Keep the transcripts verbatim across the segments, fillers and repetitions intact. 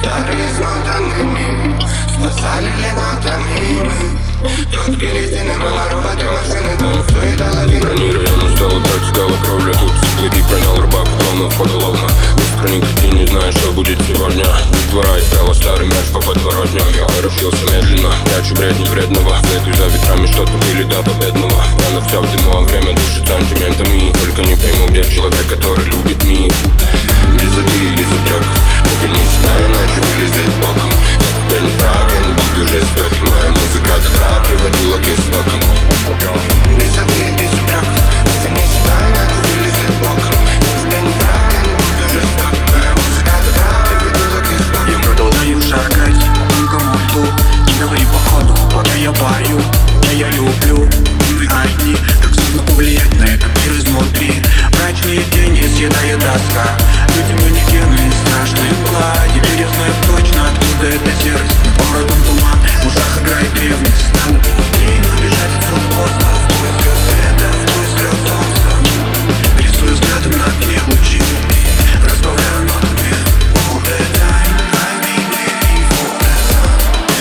Старые смотанными спасали лемотами. Тут перестены была роботы машины, дом стоит половина. Бронированно стало так, стала кровля. Тут цветы пронял рыбак, клонов поголовно. Без хроники ты не знаешь, что будет сегодня. Из двора искала старый мяч по подворотню. Я поручился медленно, прячу бредни вредного. Следуй за ветрами, что тупили до победного. Рано вся в дыму, а время дышит сантиментами. Только не пойму, где человек, который любит мир. Высоты или затек, только не знаю, иначе вылезет боком. Я неправильно, буду жестокий. Моя музыка добра приводила к истокам. Высоты и затек, только не знаю, иначе вылезет боком. Я неправильно, буду жестокий. Моя музыка добра приводила к истокам. Я продолжаю шагать, никому жду. Не говори походу, пока я пою. Я, я люблю, мы одни. Так сложно повлиять на этот мир изнутри. Мрачные тени съедает тоска. Люди манекены, страшные мгла. Теперь я знаю точно, откуда эта серость. Городом туман, в ушах играет древность. Надо быстрее, но бежать отсюда поздно. В поисках света, в поисках солнца. Рисую взглядом на окне лучи. Разбавляю нотами. All the time I've been waiting for the sun.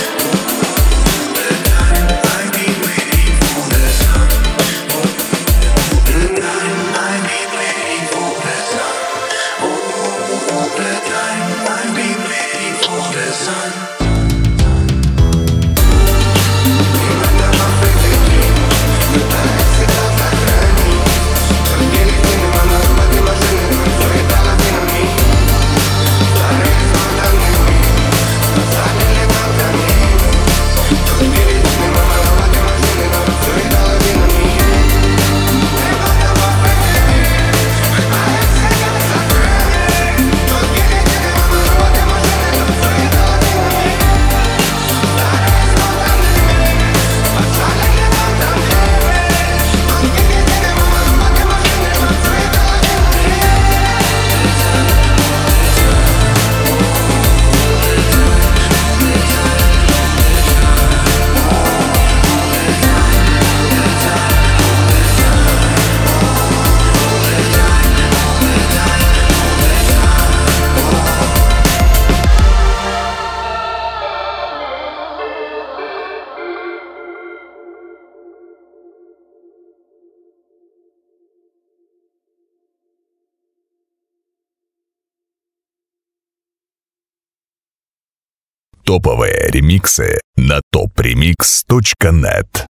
All the time I've been waiting for the sun. All the time I've been waiting for the sun. All the time I've been waiting for the sun. Топовые ремиксы на топ ремикс точка нет.